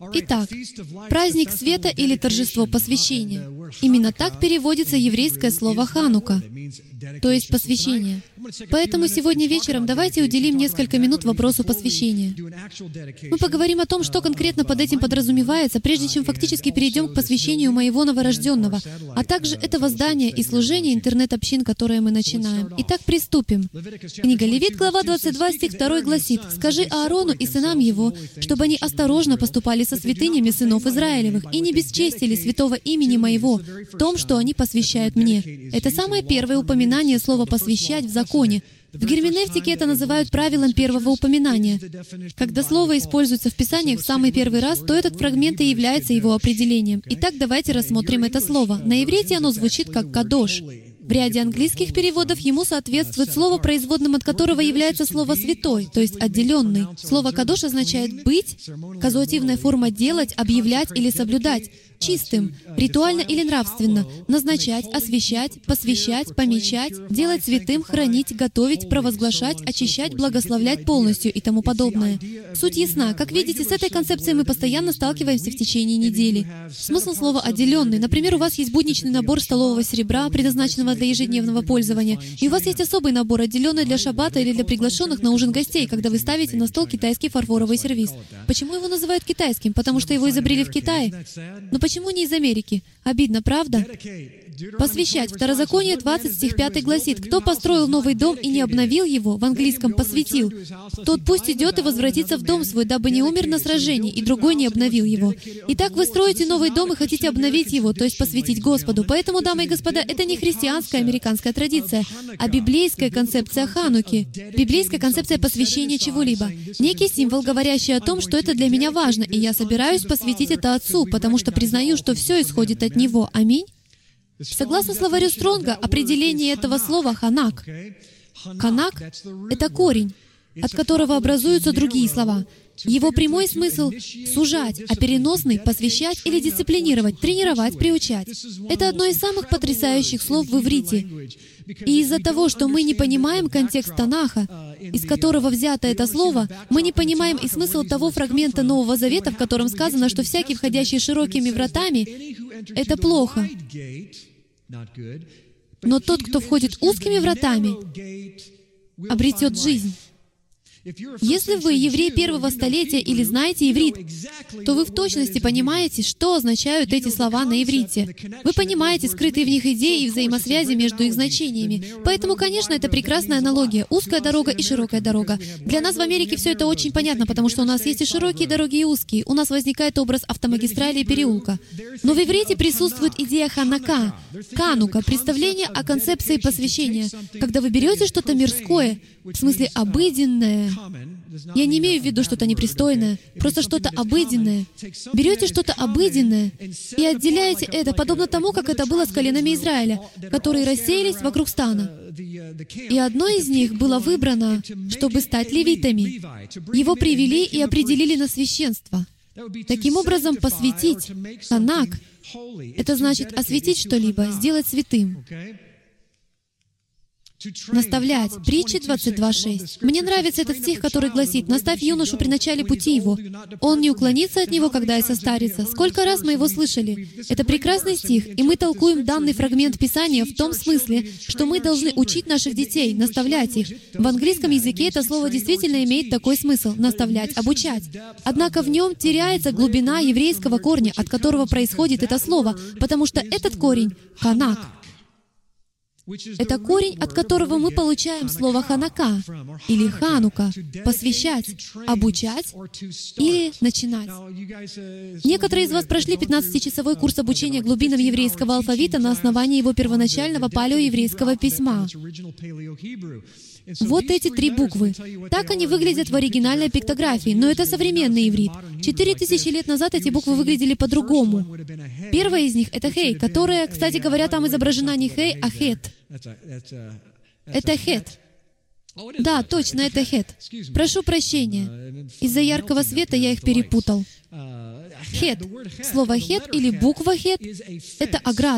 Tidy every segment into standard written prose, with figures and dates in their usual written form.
Итак, праздник света или торжество посвящения. Именно так переводится еврейское слово «ханука», то есть посвящение. Поэтому сегодня вечером давайте уделим несколько минут вопросу посвящения. Мы поговорим о том, что конкретно под этим подразумевается, прежде чем фактически перейдем к посвящению моего новорожденного, а также этого здания и служения интернет-общин, которые мы начинаем. Итак, приступим. Книга Левит, глава 22, стих 2 гласит: «Скажи Аарону и сынам его, чтобы они осторожно поступали со святынями сынов Израилевых и не бесчестили святого имени моего в том, что они посвящают мне». Это самое первое упоминание слова «посвящать» в законе. В герменевтике это называют правилом первого упоминания. Когда слово используется в Писаниях в самый первый раз, то этот фрагмент и является его определением. Итак, давайте рассмотрим это слово. На иврите оно звучит как «кадош». В ряде английских переводов ему соответствует слово, производным от которого является слово «святой», то есть «отделенный». Слово «кадош» означает «быть», казуативная форма «делать», «объявлять» или «соблюдать», чистым, ритуально или нравственно, назначать, освящать, посвящать, помечать, делать святым, хранить, готовить, провозглашать, очищать, благословлять полностью и тому подобное. Суть ясна. Как видите, с этой концепцией мы постоянно сталкиваемся в течение недели. Смысл слова «отделенный». Например, у вас есть будничный набор столового серебра, предназначенного для ежедневного пользования, и у вас есть особый набор, отделенный для шаббата или для приглашенных на ужин гостей, когда вы ставите на стол китайский фарфоровый сервиз. Почему его называют китайским? Потому что его изобрели в Китае? Но почему не из Америки? Обидно, правда? Посвящать. Второзаконие 20, стих 5 гласит: «Кто построил новый дом и не обновил его, в английском «посвятил», тот пусть идет и возвратится в дом свой, дабы не умер на сражении, и другой не обновил его». Итак, вы строите новый дом и хотите обновить его, то есть посвятить Господу. Поэтому, дамы и господа, это не христианская американская традиция, а библейская концепция Хануки, библейская концепция посвящения чего-либо. Некий символ, говорящий о том, что это для меня важно, и я собираюсь посвятить это Отцу, потому что признаю, что все исходит от Него. Аминь. Согласно словарю Стронга, определение этого слова «ханак». «Ханак» — это корень, от которого образуются другие слова. Его прямой смысл — сужать, а переносный — посвящать или дисциплинировать, тренировать, приучать. Это одно из самых потрясающих слов в иврите. И из-за того, что мы не понимаем контекст Танаха, из которого взято это слово, мы не понимаем и смысл того фрагмента Нового Завета, в котором сказано, что всякий, входящий широкими вратами, — это плохо. Но тот, кто входит узкими вратами, обретет жизнь. Если вы еврей первого столетия или знаете иврит, то вы в точности понимаете, что означают эти слова на иврите. Вы понимаете скрытые в них идеи и взаимосвязи между их значениями. Поэтому, конечно, это прекрасная аналогия. Узкая дорога и широкая дорога. Для нас в Америке все это очень понятно, потому что у нас есть и широкие дороги, и узкие. У нас возникает образ автомагистрали и переулка. Но в иврите присутствует идея ханака, канука, представление о концепции посвящения. Когда вы берете что-то мирское, в смысле обыденное, я не имею в виду что-то непристойное, просто что-то обыденное. Берете что-то обыденное и отделяете это, подобно тому, как это было с коленами Израиля, которые рассеялись вокруг стана. И одно из них было выбрано, чтобы стать левитами. Его привели и определили на священство. Таким образом, посвятить, ханак, это значит осветить что-либо, сделать святым. Наставлять. Притчи 22:6. Мне нравится этот стих, который гласит: «Наставь юношу при начале пути его. Он не уклонится от него, когда и состарится». Сколько раз мы его слышали? Это прекрасный стих, и мы толкуем данный фрагмент Писания в том смысле, что мы должны учить наших детей, наставлять их. В английском языке это слово действительно имеет такой смысл — наставлять, обучать. Однако в нем теряется глубина еврейского корня, от которого происходит это слово, потому что этот корень — ханак. Это корень, от которого мы получаем слово «ханака» или «ханука» — посвящать, обучать или начинать. Некоторые из вас прошли 15-часовой курс обучения глубинам еврейского алфавита на основании его первоначального палеоеврейского письма. Вот эти 3 буквы. Так они выглядят в оригинальной пиктографии, но это современный иврит. 4000 лет назад эти буквы выглядели по-другому. Первая из них — это «хей», которая, кстати говоря, там изображена не «хей», а «хет». Это «хет». Да, точно, это «хет». Прошу прощения. Из-за яркого света я их перепутал. «Хет». Слово «хет» или буква «хет» — это ограда.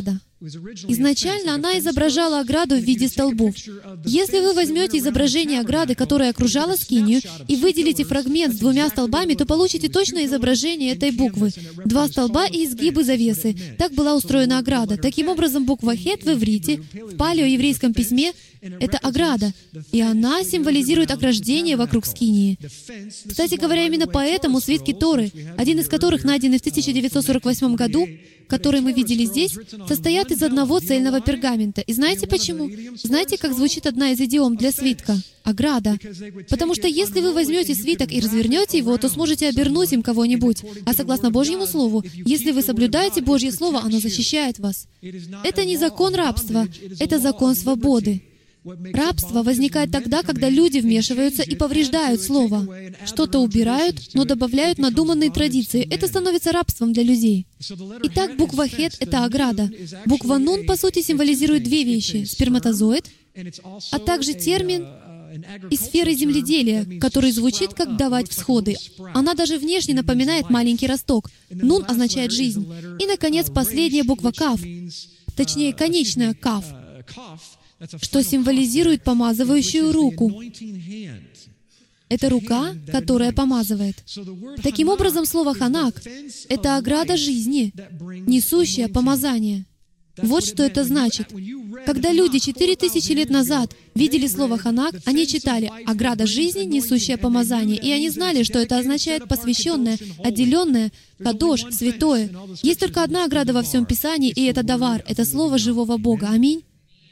Изначально она изображала ограду в виде столбов. Если вы возьмете изображение ограды, которая окружала скинию, и выделите фрагмент с 2 столбами, то получите точное изображение этой буквы. 2 столба и изгибы завесы. Так была устроена ограда. Таким образом, буква «хет» в иврите, в палеоеврейском письме, это ограда, и она символизирует ограждение вокруг скинии. Кстати говоря, именно поэтому свитки Торы, один из которых найденный в 1948 году, который мы видели здесь, состоят из одного цельного пергамента. И знаете почему? Знаете, как звучит одна из идиом для свитка? Ограда. Потому что если вы возьмете свиток и развернете его, то сможете обернуть им кого-нибудь. А согласно Божьему Слову, если вы соблюдаете Божье Слово, оно защищает вас. Это не закон рабства, это закон свободы. Рабство возникает тогда, когда люди вмешиваются и повреждают Слово. Что-то убирают, но добавляют надуманные традиции. Это становится рабством для людей. Итак, буква «хет» — это ограда. Буква «нун» по сути символизирует 2 вещи — сперматозоид, а также термин из сферы земледелия, который звучит как «давать всходы». Она даже внешне напоминает маленький росток. «Нун» означает «жизнь». И, наконец, последняя буква «кав», точнее, конечная «кав», что символизирует помазывающую руку. Это рука, которая помазывает. Таким образом, слово «ханак» — это ограда жизни, несущая помазание. Вот что это значит. Когда люди 4000 лет назад видели слово «ханак», они читали «ограда жизни, несущая помазание», и они знали, что это означает «посвященное», «отделенное», «кадош», «святое». Есть только одна ограда во всем Писании, и это «давар», это слово живого Бога. Аминь.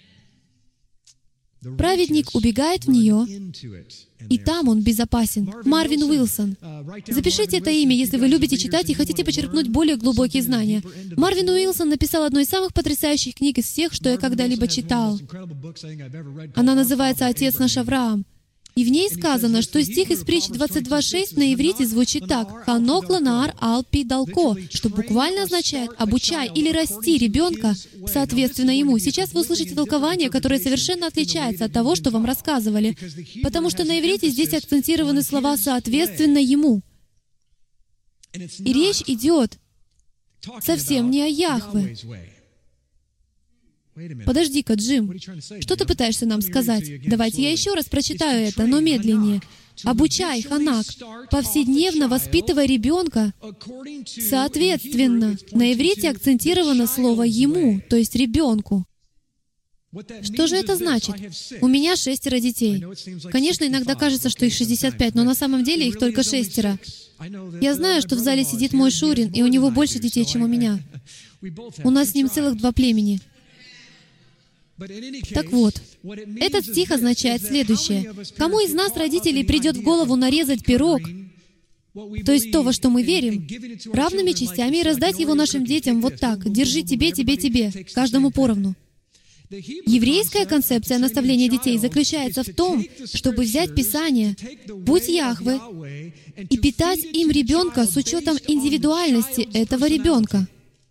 Праведник убегает в нее, и там он безопасен. Марвин Уилсон. Запишите это имя, если вы любите читать и хотите почерпнуть более глубокие знания. Марвин Уилсон написал одну из самых потрясающих книг из всех, что я когда-либо читал. Она называется «Отец наш Авраам». И в ней сказано, что стих из притчи 22:6 на иврите звучит так: «Ханок ланаар ал пи далко», что буквально означает «обучай» или «расти ребенка соответственно ему». Сейчас вы услышите толкование, которое совершенно отличается от того, что вам рассказывали, потому что на иврите здесь акцентированы слова «соответственно ему». И речь идет совсем не о Яхве. Подожди-ка, Джим, что ты пытаешься нам сказать? Давайте я еще раз прочитаю это, но медленнее. «Обучай, ханак, повседневно воспитывай ребенка соответственно». На иврите акцентировано слово «ему», то есть «ребенку». Что же это значит? У меня 6 детей. Конечно, иногда кажется, что их 65, но на самом деле их только 6. Я знаю, что в зале сидит мой Шурин, и у него больше детей, чем у меня. У нас с ним целых 2 племени. Так вот, этот стих означает следующее. Кому из нас, родителей, придет в голову нарезать пирог, то есть то, во что мы верим, равными частями и раздать его нашим детям вот так: «Держи тебе, тебе, тебе», каждому поровну? Еврейская концепция наставления детей заключается в том, чтобы взять Писание, «Будь Яхве», и питать им ребенка с учетом индивидуальности этого ребенка.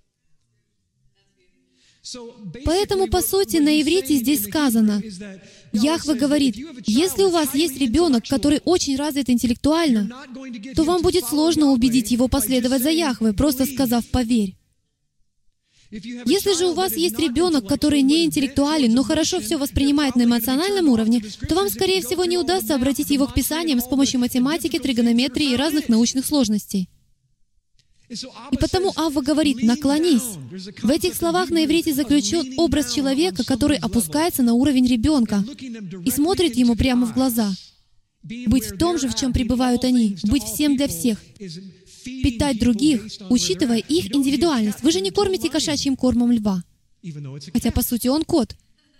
Поэтому, по сути, на иврите здесь сказано, Яхве говорит: если у вас есть ребенок, который очень развит интеллектуально, то вам будет сложно убедить его последовать за Яхве, просто сказав «поверь». Если же у вас есть ребенок, который не интеллектуален, но хорошо все воспринимает на эмоциональном уровне, то вам, скорее всего, не удастся обратить его к Писаниям с помощью математики, тригонометрии и разных научных сложностей. И потому Авва говорит: «наклонись». В этих словах на иврите заключен образ человека, который опускается на уровень ребенка и смотрит ему прямо в глаза. Быть в том же, в чем пребывают они, быть всем для всех, питать других, учитывая их индивидуальность. Вы же не кормите кошачьим кормом льва, хотя, по сути, он кот.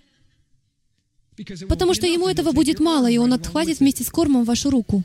Потому что ему этого будет мало, и он отхватит вместе с кормом вашу руку.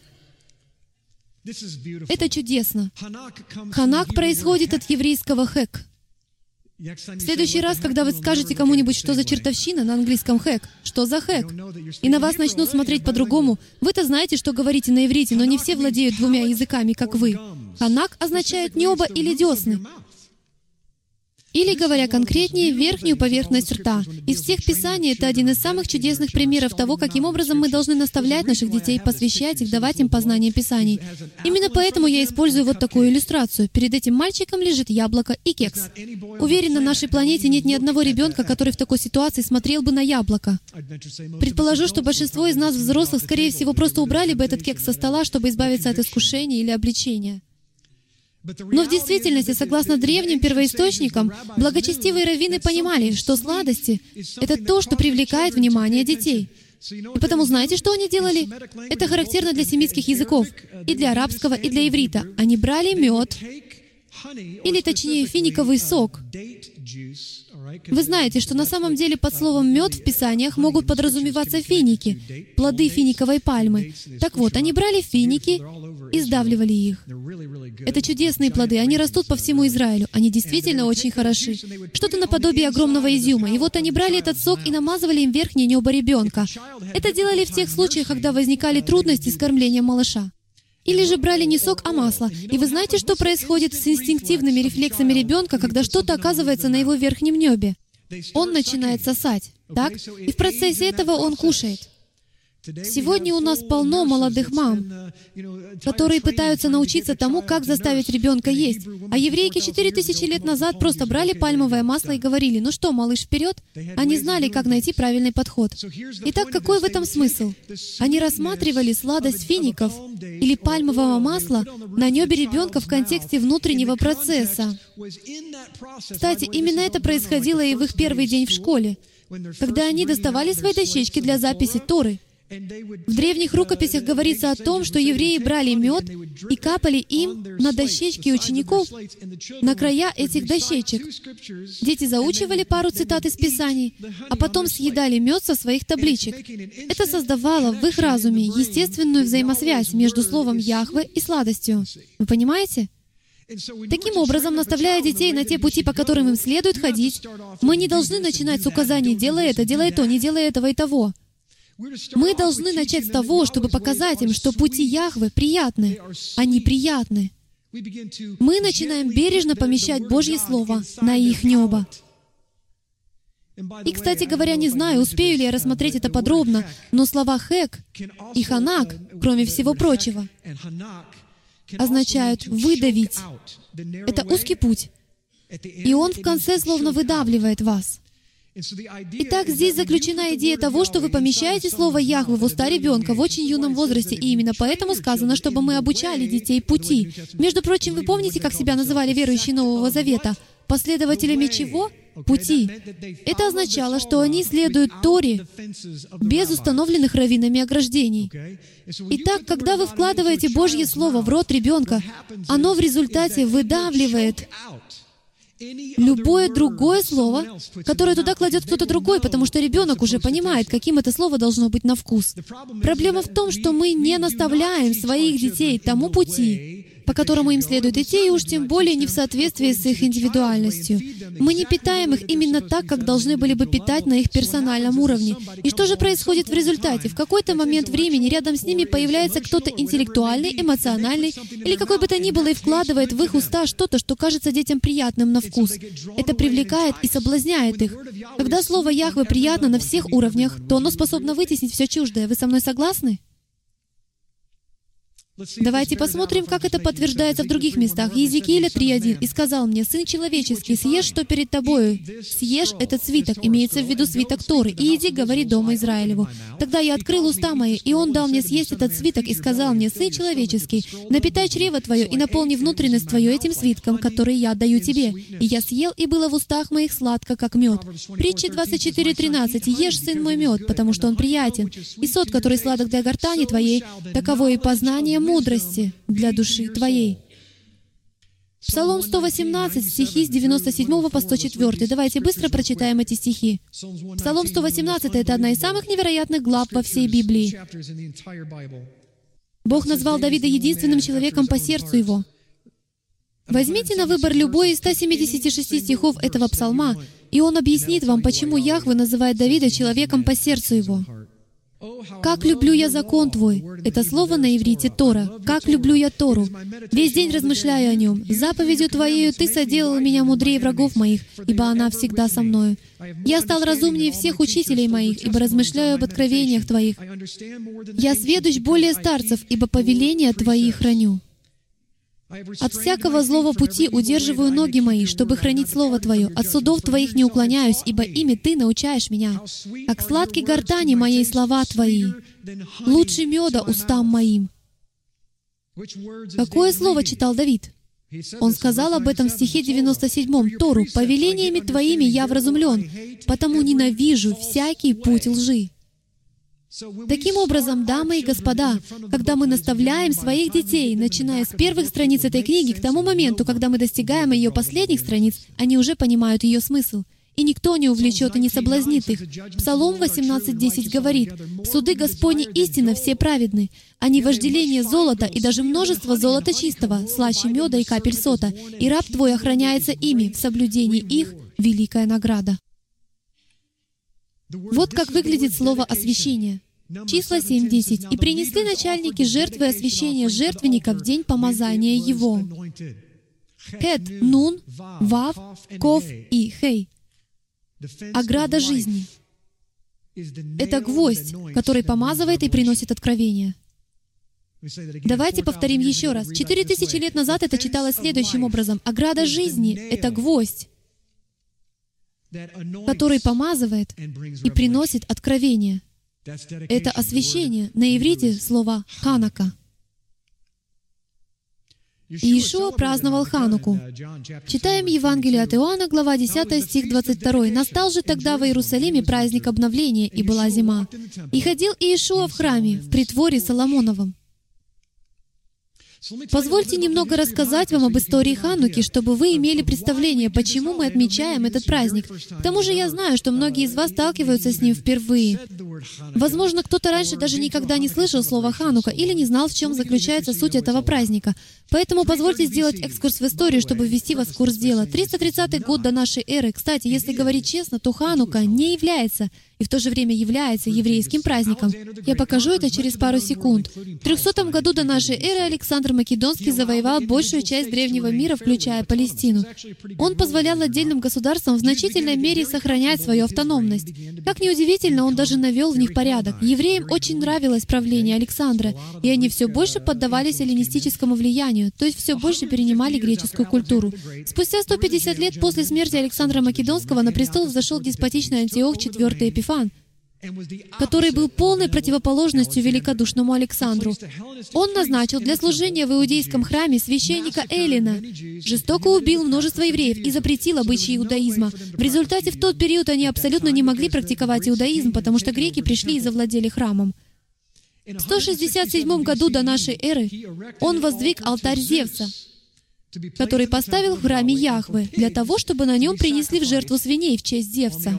Это чудесно. Ханак происходит от еврейского «хэк». В следующий раз, когда вы скажете кому-нибудь, что за чертовщина, на английском «хэк», что за «хэк», и на вас начнут смотреть по-другому, вы-то знаете, что говорите на иврите, но не все владеют 2 языками, как вы. Ханак означает «небо» или «десны». Или, говоря конкретнее, верхнюю поверхность рта. Из всех Писаний это один из самых чудесных примеров того, каким образом мы должны наставлять наших детей, посвящать их, давать им познание Писаний. Именно поэтому я использую вот такую иллюстрацию. Перед этим мальчиком лежит яблоко и кекс. Уверен, на нашей планете нет ни одного ребенка, который в такой ситуации смотрел бы на яблоко. Предположу, что большинство из нас, взрослых, скорее всего, просто убрали бы этот кекс со стола, чтобы избавиться от искушения или обличения. Но в действительности, согласно древним первоисточникам, благочестивые раввины понимали, что сладости — это то, что привлекает внимание детей. И потому знаете, что они делали? Это характерно для семитских языков, и для арабского, и для иврита. Они брали мед, или точнее финиковый сок. Вы знаете, что на самом деле под словом «мед» в Писаниях могут подразумеваться финики, плоды финиковой пальмы. Так вот, они брали финики и сдавливали их. Это чудесные плоды, они растут по всему Израилю. Они действительно очень хороши. Что-то наподобие огромного изюма. И вот они брали этот сок и намазывали им верхнее небо ребенка. Это делали в тех случаях, когда возникали трудности с кормлением малыша. Или же брали не сок, а масло. И вы знаете, что происходит с инстинктивными рефлексами ребенка, когда что-то оказывается на его верхнем небе? Он начинает сосать, так? И в процессе этого он кушает. Сегодня у нас полно молодых мам, которые пытаются научиться тому, как заставить ребенка есть. А еврейки 4000 лет назад просто брали пальмовое масло и говорили: «Ну что, малыш, вперед!» Они знали, как найти правильный подход. Итак, какой в этом смысл? Они рассматривали сладость фиников или пальмового масла на небе ребенка в контексте внутреннего процесса. Кстати, именно это происходило и в их первый день в школе, когда они доставали свои дощечки для записи Торы. В древних рукописях говорится о том, что евреи брали мед и капали им на дощечки учеников, на края этих дощечек. Дети заучивали пару цитат из Писаний, а потом съедали мед со своих табличек. Это создавало в их разуме естественную взаимосвязь между словом «Яхве» и сладостью. Вы понимаете? Таким образом, наставляя детей на те пути, по которым им следует ходить, мы не должны начинать с указаний «делай это, делай то, не делай этого и того». Мы должны начать с того, чтобы показать им, что пути Яхве приятны. Они приятны. Мы начинаем бережно помещать Божье Слово на их небо. И, кстати говоря, не знаю, успею ли я рассмотреть это подробно, но слова «хек» и «ханак», кроме всего прочего, означают «выдавить». Это узкий путь. И он в конце словно выдавливает вас. Итак, здесь заключена идея того, что вы помещаете слово «Яхве» в уста ребенка в очень юном возрасте, и именно поэтому сказано, чтобы мы обучали детей пути. Между прочим, вы помните, как себя называли верующие Нового Завета? Последователями чего? Пути. Это означало, что они следуют Торе без установленных раввинами ограждений. Итак, когда вы вкладываете Божье Слово в рот ребенка, оно в результате выдавливает любое другое слово, которое туда кладет кто-то другой, потому что ребенок уже понимает, каким это слово должно быть на вкус. Проблема в том, что мы не наставляем своих детей тому пути, по которому им следует идти, и уж тем более не в соответствии с их индивидуальностью. Мы не питаем их именно так, как должны были бы питать на их персональном уровне. И что же происходит в результате? В какой-то момент времени рядом с ними появляется кто-то интеллектуальный, эмоциональный, или какой бы то ни было, и вкладывает в их уста что-то, что кажется детям приятным на вкус. Это привлекает и соблазняет их. Когда слово «Яхве» приятно на всех уровнях, то оно способно вытеснить все чуждое. Вы со мной согласны? Давайте посмотрим, как это подтверждается в других местах. Иезекииля 3:1. «И сказал мне: Сын человеческий, съешь, что перед тобою, съешь этот свиток», имеется в виду свиток Торы, «и иди, говори дому Израилеву». Тогда я открыл уста мои, и он дал мне съесть этот свиток, и сказал мне: Сын человеческий, напитай чрево твое и наполни внутренность твою этим свитком, который я даю тебе. И я съел, и было в устах моих сладко, как мед. Притча 24:13. «Ешь, сын мой, мед, потому что он приятен, и сот, который сладок для гортани твоей, таково и познание мудрости для души твоей». Псалом 118, стихи с 97 по 104. Давайте быстро прочитаем эти стихи. Псалом 118 — это одна из самых невероятных глав во всей Библии. Бог назвал Давида единственным человеком по сердцу его. Возьмите на выбор любой из 176 стихов этого псалма, и он объяснит вам, почему Яхве называет Давида человеком по сердцу его. Как люблю я закон Твой. Это слово на иврите Тора. Как люблю я Тору. Весь день размышляю о нем. Заповедью Твоею Ты соделал меня мудрее врагов моих, ибо она всегда со мною. Я стал разумнее всех учителей моих, ибо размышляю об откровениях Твоих. Я сведущ более старцев, ибо повеления Твои храню. От всякого злого пути удерживаю ноги мои, чтобы хранить Слово Твое. От судов Твоих не уклоняюсь, ибо ими Ты научаешь меня. Как сладки гортани моей слова Твои, лучше меда устам моим. Какое слово читал Давид? Он сказал об этом в стихе 97, Тору: «Повелениями Твоими я вразумлен, потому ненавижу всякий путь лжи». Таким образом, дамы и господа, когда мы наставляем своих детей, начиная с первых страниц этой книги, к тому моменту, когда мы достигаем ее последних страниц, они уже понимают ее смысл. И никто не увлечет и не соблазнит их. Псалом 18:10 говорит: «Суды Господни истинно все праведны. Они вожделение золота и даже множество золота чистого, слаще меда и капель сота, и раб Твой охраняется ими, в соблюдении их великая награда». Вот как выглядит слово «освящение». Числа 7:10. «И принесли начальники жертвы освящения жертвенника в день помазания его». Хет, Нун, Вав, Ков и Хей. Ограда жизни. Это гвоздь, который помазывает и приносит откровение. Давайте повторим еще раз. 4000 лет назад это читалось следующим образом. Ограда жизни — это гвоздь, который помазывает и приносит откровение. Это освящение. На иврите слово «ханака». Иешуа праздновал Хануку. Читаем Евангелие от Иоанна, глава 10, стих 22. «Настал же тогда в Иерусалиме праздник обновления, и была зима. И ходил Иешуа в храме, в притворе Соломоновом». Позвольте немного рассказать вам об истории Хануки, чтобы вы имели представление, почему мы отмечаем этот праздник. К тому же я знаю, что многие из вас сталкиваются с ним впервые. Возможно, кто-то раньше даже никогда не слышал слова «Ханука» или не знал, в чем заключается суть этого праздника. Поэтому позвольте сделать экскурс в историю, чтобы ввести вас в курс дела. 330 год до нашей эры. Кстати, если говорить честно, то Ханука не является и в то же время является еврейским праздником. Я покажу это через пару секунд. В 300 году до нашей эры Александр Македонский завоевал большую часть древнего мира, включая Палестину. Он позволял отдельным государствам в значительной мере сохранять свою автономность. Как ни удивительно, он даже навел в них порядок. Евреям очень нравилось правление Александра, и они все больше поддавались эллинистическому влиянию, то есть все больше перенимали греческую культуру. Спустя 150 лет после смерти Александра Македонского на престол взошел деспотичный Антиох IV Эпифан, который был полной противоположностью великодушному Александру. Он назначил для служения в иудейском храме священника Эллина, жестоко убил множество евреев и запретил обычаи иудаизма. В результате в тот период они абсолютно не могли практиковать иудаизм, потому что греки пришли и завладели храмом. В 167 году до нашей эры он воздвиг алтарь Зевса, который поставил в храме Яхве для того, чтобы на нем принесли в жертву свиней в честь Зевса.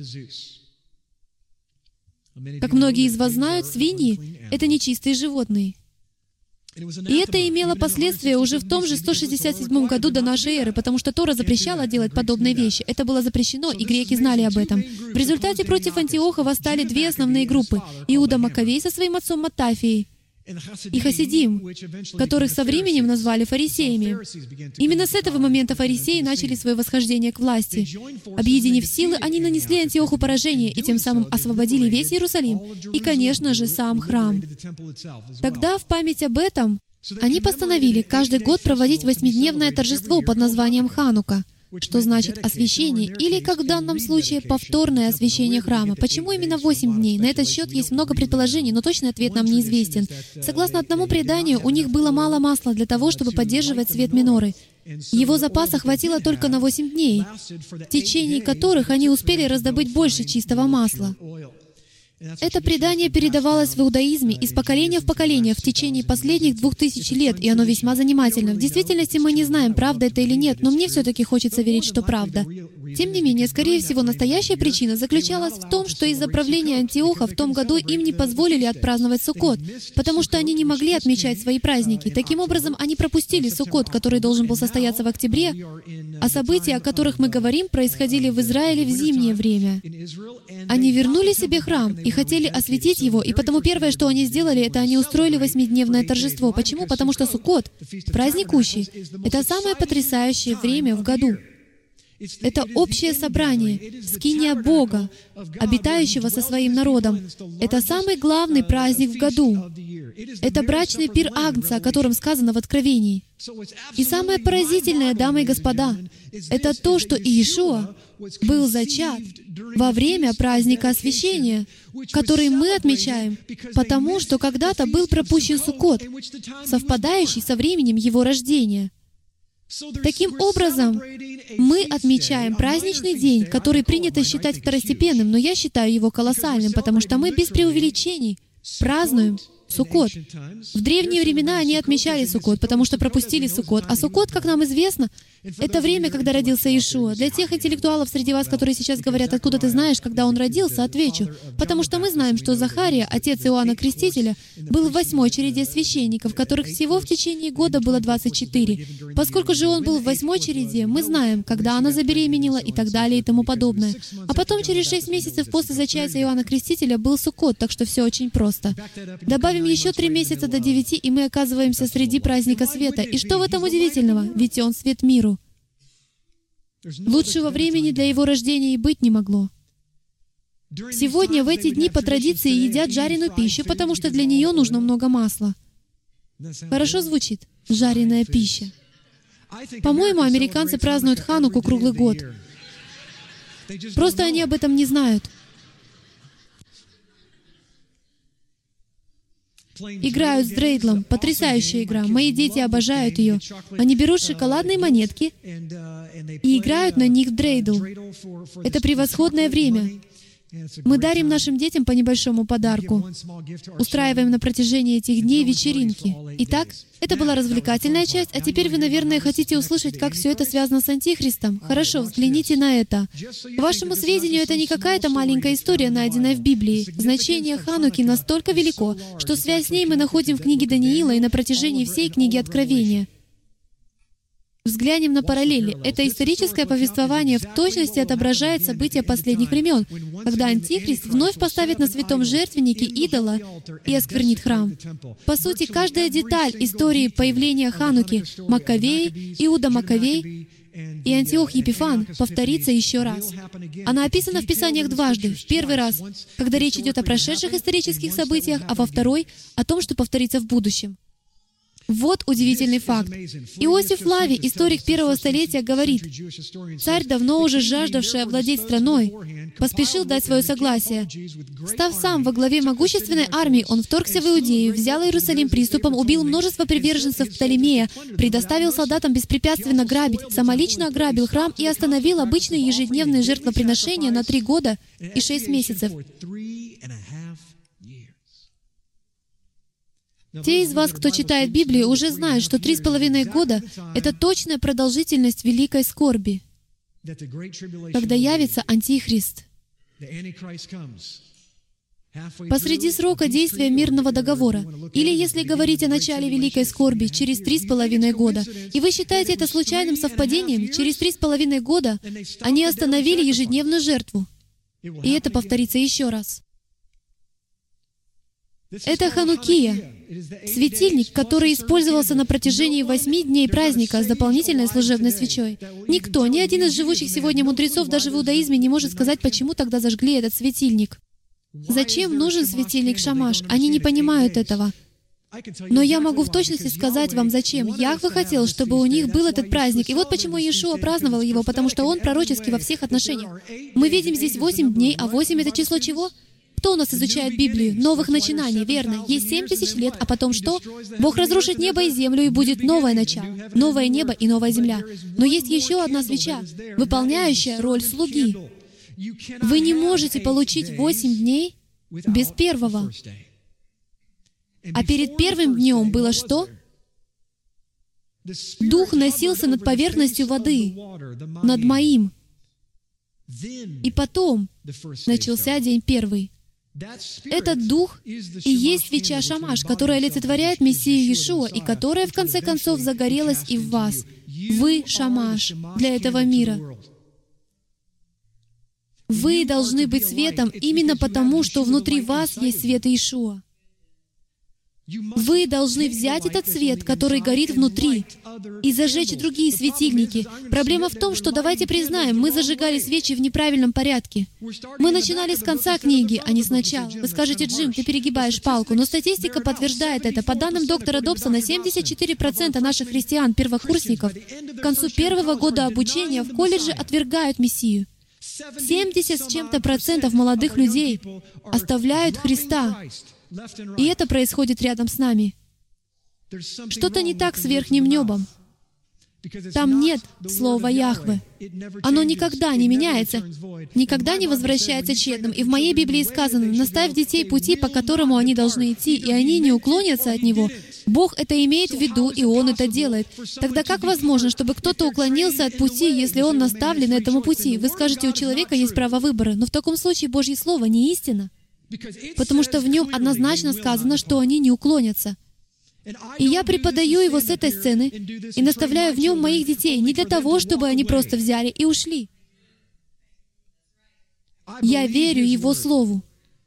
Как многие из вас знают, свиньи — это нечистые животные. И это имело последствия уже в том же 167 году до нашей эры, потому что Тора запрещала делать подобные вещи. Это было запрещено, и греки знали об этом. В результате против Антиоха восстали две основные группы — Иуда Маккавей со своим отцом Маттафией и Хасидим, которых со временем назвали фарисеями. Именно с этого момента фарисеи начали свое восхождение к власти. Объединив силы, они нанесли Антиоху поражение и тем самым освободили весь Иерусалим и, конечно же, сам храм. Тогда, в память об этом, они постановили каждый год проводить 8-дневное торжество под названием Ханука, что значит «освящение», или, как в данном случае, повторное освящение храма. Почему именно 8 дней? На этот счет есть много предположений, но точный ответ нам неизвестен. Согласно одному преданию, у них было мало масла для того, чтобы поддерживать свет миноры. Его запаса хватило только на 8 дней, в течение которых они успели раздобыть больше чистого масла. Это предание передавалось в иудаизме из поколения в поколение в течение последних 2000 лет, и оно весьма занимательно. В действительности мы не знаем, правда это или нет, но мне все-таки хочется верить, что правда. Тем не менее, скорее всего, настоящая причина заключалась в том, что из-за правления Антиоха в том году им не позволили отпраздновать Суккот, потому что они не могли отмечать свои праздники. Таким образом, они пропустили Суккот, который должен был состояться в октябре, а события, о которых мы говорим, происходили в Израиле в зимнее время. Они вернули себе храм и хотели осветить его, и потому первое, что они сделали, это они устроили 8-дневное торжество. Почему? Потому что Суккот, праздник Кущи, это самое потрясающее время в году. Это общее собрание, скиния Бога, обитающего со своим народом. Это самый главный праздник в году. Это брачный пир Агнца, о котором сказано в Откровении. И самое поразительное, дамы и господа, это то, что Иешуа был зачат во время праздника освящения, который мы отмечаем, потому что когда-то был пропущен Суккот, совпадающий со временем его рождения. Таким образом, мы отмечаем праздничный день, который принято считать второстепенным, но я считаю его колоссальным, потому что мы без преувеличений празднуем Суккот. В древние времена они отмечали Суккот, потому что пропустили Суккот. А Суккот, как нам известно, это время, когда родился Иешуа. Для тех интеллектуалов среди вас, которые сейчас говорят, откуда ты знаешь, когда он родился, отвечу. Потому что мы знаем, что Захария, отец Иоанна Крестителя, был в 8-й череде священников, которых всего в течение года было 24. Поскольку же он был в 8-й череде, мы знаем, когда она забеременела и так далее и тому подобное. А потом через 6 месяцев после зачатия Иоанна Крестителя был Суккот, так что все очень просто. Добавим еще 3 месяца до 9, и мы оказываемся среди праздника света. И что в этом удивительного? Ведь он свет миру. Лучшего времени для его рождения и быть не могло. Сегодня в эти дни по традиции едят жареную пищу, потому что для нее нужно много масла. Хорошо звучит? Жареная пища. По-моему, американцы празднуют Хануку круглый год. Просто они об этом не знают. Играют с дрейдлом. Потрясающая игра. Мои дети обожают ее. Они берут шоколадные монетки и играют на них в дрейдл. Это превосходное время. Мы дарим нашим детям по небольшому подарку. Устраиваем на протяжении этих дней вечеринки. Итак, это была развлекательная часть, а теперь вы, наверное, хотите услышать, как все это связано с Антихристом. Хорошо, взгляните на это. К вашему сведению, это не какая-то маленькая история, найденная в Библии. Значение Хануки настолько велико, что связь с ней мы находим в книге Даниила и на протяжении всей книги Откровения. Взглянем на параллели. Это историческое повествование в точности отображает события последних времен, когда Антихрист вновь поставит на святом жертвеннике идола и осквернит храм. По сути, каждая деталь истории появления Хануки, Маккавей, Иуда Маккавей и Антиох Епифан повторится еще раз. Она описана в Писаниях дважды. В первый раз, когда речь идет о прошедших исторических событиях, а во второй — о том, что повторится в будущем. Вот удивительный факт. Иосиф Флавий, историк первого столетия, говорит, «Царь, давно уже жаждавший овладеть страной, поспешил дать свое согласие. Став сам во главе могущественной армии, он вторгся в Иудею, взял Иерусалим приступом, убил множество приверженцев Птолемея, предоставил солдатам беспрепятственно грабить, самолично ограбил храм и остановил обычные ежедневные жертвоприношения на 3 года и 6 месяцев. Те из вас, кто читает Библию, уже знают, что 3,5 года — это точная продолжительность великой скорби, когда явится Антихрист. Посреди срока действия мирного договора, или, если говорить о начале великой скорби, через 3,5 года, и вы считаете это случайным совпадением, через 3,5 года они остановили ежедневную жертву, и это повторится еще раз. Это Ханукия, светильник, который использовался на протяжении 8 дней праздника с дополнительной служебной свечой. Никто, ни один из живущих сегодня мудрецов даже в иудаизме не может сказать, почему тогда зажгли этот светильник. Зачем нужен светильник Шамаш? Они не понимают этого. Но я могу в точности сказать вам, зачем. Яхве хотел, чтобы у них был этот праздник. И вот почему Иешуа праздновал его, потому что он пророческий во всех отношениях. Мы видим здесь 8 дней, а 8 — это число чего? Кто у нас изучает Библию? Новых начинаний, верно. Есть 7000 лет, а потом что? Бог разрушит небо и землю, и будет новое начало. Новое небо и новая земля. Но есть еще одна свеча, выполняющая роль слуги. Вы не можете получить 8 дней без первого. А перед первым днем было что? Дух носился над поверхностью воды, над моим. И потом начался день первый. Этот Дух и есть свеча Шамаш, которая олицетворяет Мессию Иешуа, и которая, в конце концов, загорелась и в вас. Вы — Шамаш для этого мира. Вы должны быть светом именно потому, что внутри вас есть свет Иешуа. Вы должны взять этот свет, который горит внутри, и зажечь другие светильники. Проблема в том, что, давайте признаем, мы зажигали свечи в неправильном порядке. Мы начинали с конца книги, а не сначала. Вы скажете: Джим, ты перегибаешь палку, но статистика подтверждает это. По данным доктора Добсона, 74% наших христиан, первокурсников, к концу первого года обучения в колледже отвергают Мессию. 70 с чем-то процентов молодых людей оставляют Христа. И это происходит рядом с нами. Что-то не так с верхним небом. Там нет слова Яхве. Оно никогда не меняется, никогда не возвращается тщетным. И в моей Библии сказано: «Наставь детей пути, по которому они должны идти, и они не уклонятся от него». Бог это имеет в виду, и Он это делает. Тогда как возможно, чтобы кто-то уклонился от пути, если он наставлен этому пути? Вы скажете, у человека есть право выбора, но в таком случае Божье Слово не истина, потому что в нем однозначно сказано, что они не уклонятся. И я преподаю его с этой сцены и наставляю в нем моих детей не для того, чтобы они просто взяли и ушли. Я верю Его Слову.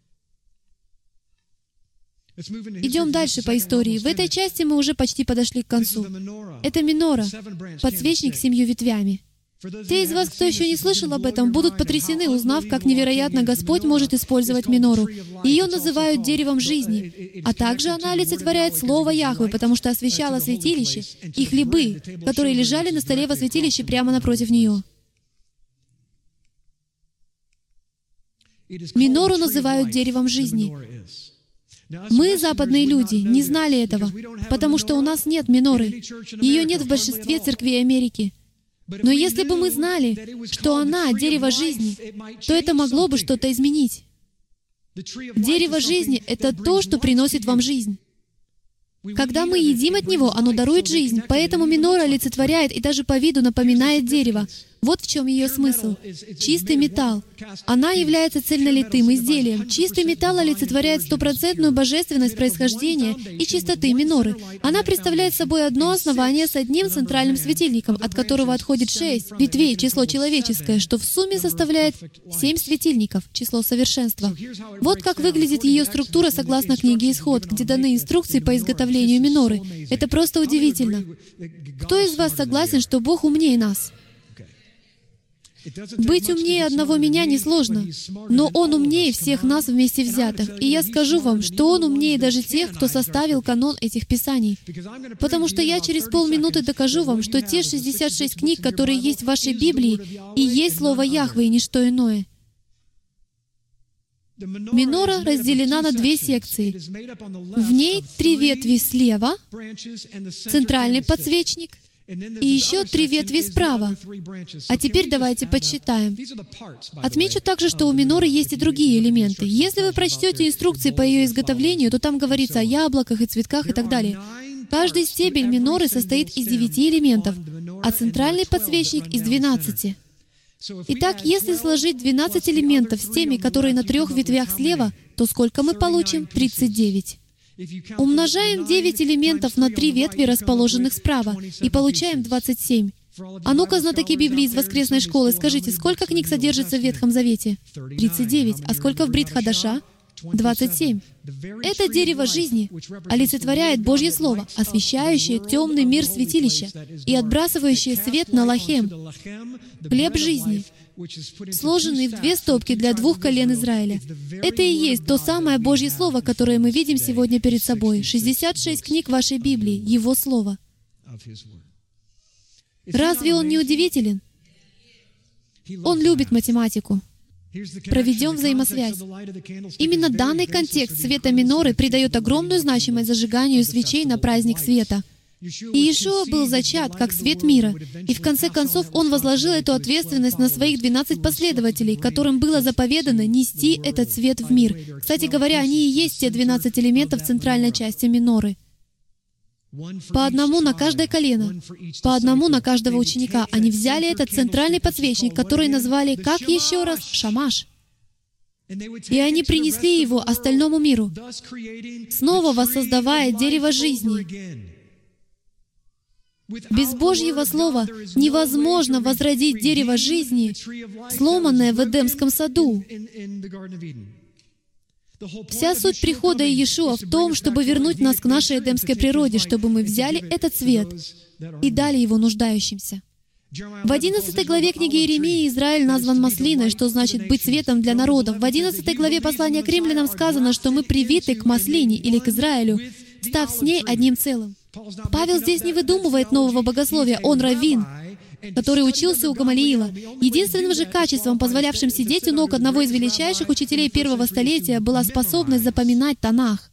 Идем дальше по истории. В этой части мы уже почти подошли к концу. Это минора, подсвечник с 7 ветвями. Те из вас, кто еще не слышал об этом, будут потрясены, узнав, как невероятно Господь может использовать минору. Ее называют деревом жизни, а также она олицетворяет Слово Яхве, потому что освещала святилище и хлебы, которые лежали на столе во святилище прямо напротив нее. Минору называют деревом жизни. Мы, западные люди, не знали этого, потому что у нас нет миноры. Ее нет в большинстве церквей Америки. Но если бы мы знали, что она — дерево жизни, то это могло бы что-то изменить. Дерево жизни — это то, что приносит вам жизнь. Когда мы едим от него, оно дарует жизнь, поэтому минора олицетворяет и даже по виду напоминает дерево. Вот в чем ее смысл. Чистый металл. Она является цельнолитым изделием. Чистый металл олицетворяет стопроцентную божественность происхождения и чистоты миноры. Она представляет собой одно основание с одним центральным светильником, от которого отходит 6 ветвей, число человеческое, что в сумме составляет 7 светильников, число совершенства. Вот как выглядит ее структура согласно книге «Исход», где даны инструкции по изготовлению миноры. Это просто удивительно. Кто из вас согласен, что Бог умнее нас? Быть умнее одного меня несложно, но Он умнее всех нас вместе взятых. И я скажу вам, что Он умнее даже тех, кто составил канон этих писаний. Потому что я через полминуты докажу вам, что те 66 книг, которые есть в вашей Библии, и есть Слово Яхве, и ничто иное. Минора разделена на 2 секции. В ней 3 ветви слева, центральный подсвечник, и еще 3 ветви справа. А теперь давайте подсчитаем. Отмечу также, что у миноры есть и другие элементы. Если вы прочтете инструкции по ее изготовлению, то там говорится о яблоках и цветках и так далее. Каждый стебель миноры состоит из 9 элементов, а центральный подсвечник — из 12. Итак, если сложить 12 элементов с теми, которые на 3 ветвях слева, то сколько мы получим? 39. Умножаем 9 элементов на 3 ветви, расположенных справа, и получаем 27. А ну-ка, знатоки Библии из воскресной школы, скажите, сколько книг содержится в Ветхом Завете? 39. А сколько в Брит Хадаша? 27. Это дерево жизни олицетворяет Божье Слово, освещающее темный мир святилища и отбрасывающее свет на лахем, хлеб жизни, сложенный в 2 стопки для 2 колен Израиля. Это и есть то самое Божье Слово, которое мы видим сегодня перед собой. 66 книг вашей Библии, Его Слово. Разве Он не удивителен? Он любит математику. Проведем взаимосвязь. Именно данный контекст света миноры придает огромную значимость зажиганию свечей на праздник света. И Иешуа был зачат как свет мира, и в конце концов Он возложил эту ответственность на своих 12 последователей, которым было заповедано нести этот свет в мир. Кстати говоря, они и есть те 12 элементов центральной части миноры. По одному на каждое колено, по одному на каждого ученика. Они взяли этот центральный подсвечник, который назвали, как еще раз, шамаш. И они принесли его остальному миру, снова воссоздавая дерево жизни. Без Божьего Слова невозможно возродить дерево жизни, сломанное в Эдемском саду. Вся суть прихода Иешуа в том, чтобы вернуть нас к нашей эдемской природе, чтобы мы взяли этот свет и дали его нуждающимся. В 11 главе книги Иеремии Израиль назван маслиной, что значит «быть светом для народов». В 11 главе послания к римлянам сказано, что мы привиты к маслине или к Израилю, став с ней одним целым. Павел здесь не выдумывает нового богословия, он раввин, который учился у Гамалиила. Единственным же качеством, позволявшим сидеть у ног одного из величайших учителей первого столетия, была способность запоминать Танах.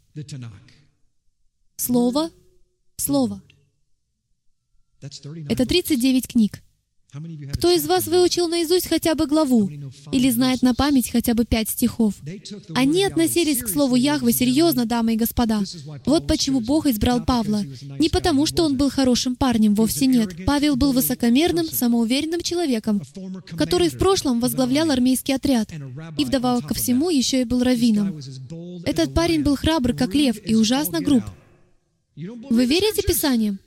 Слово в слово. Это 39 книг. Кто из вас выучил наизусть хотя бы главу или знает на память хотя бы 5 стихов? Они относились к слову Яхве серьезно, дамы и господа. Вот почему Бог избрал Павла. Не потому, что он был хорошим парнем, вовсе нет. Павел был высокомерным, самоуверенным человеком, который в прошлом возглавлял армейский отряд, и вдобавок ко всему еще и был раввином. Этот парень был храбр, как лев, и ужасно груб. Вы верите Писаниям?